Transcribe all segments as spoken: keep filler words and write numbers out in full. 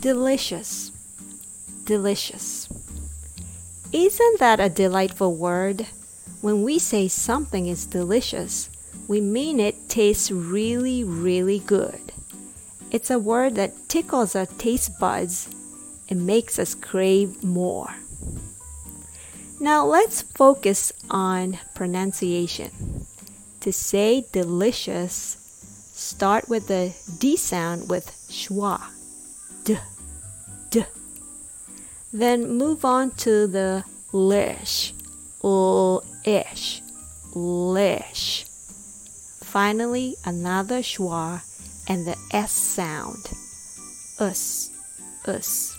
Delicious, delicious. Isn't that a delightful word? When we say something is delicious, we mean it tastes really, really good. It's a word that tickles our taste buds and makes us crave more. Now let's focus on pronunciation. To say delicious, start with the D sound with schwa, d, d. Then move on to the lish, l-ish, lish. Finally, another schwa and the S sound, us, us.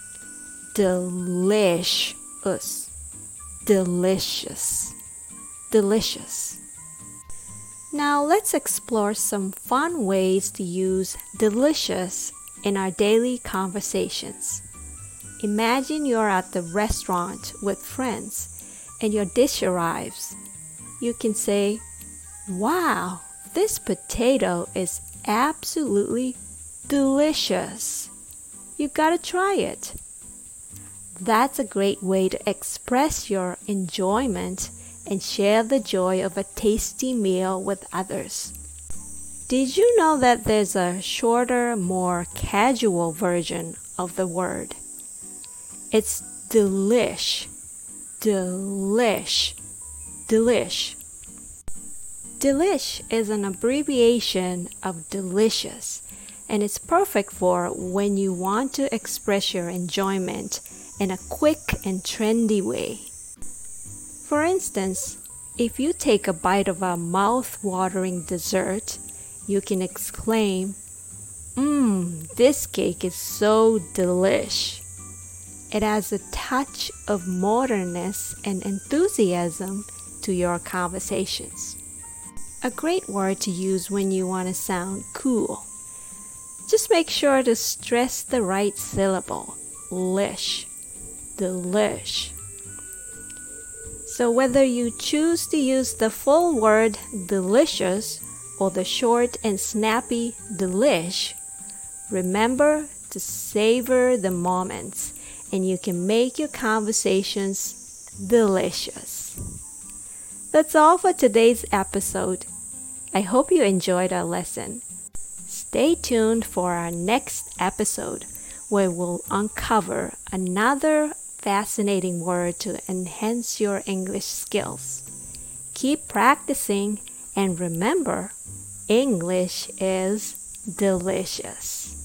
Delicious, delicious, delicious. Now let's explore some fun ways to use delicious in our daily conversations. Imagine you're at the restaurant with friends and your dish arrives. You can say, "Wow, this potato is absolutely delicious. You gotta try it." That's a great way to express your enjoyment and share the joy of a tasty meal with others. Did you know that there's a shorter, more casual version of the word? It's delish, delish, delish. Delish is an abbreviation of delicious, and it's perfect for when you want to express your enjoyment in a quick and trendy way. For instance, if you take a bite of a mouth-watering dessert, you can exclaim, "Mmm, this cake is so delish." It adds a touch of modernness and enthusiasm to your conversations. A great word to use when you want to sound cool. Just make sure to stress the right syllable, lish, delish. So whether you choose to use the full word delicious or the short and snappy delish, remember to savor the moments and you can make your conversations delicious. That's all for today's episode. I hope you enjoyed our lesson. Stay tuned for our next episode where we'll uncover another fascinating word to enhance your English skills. Keep practicing and remember, English is delicious.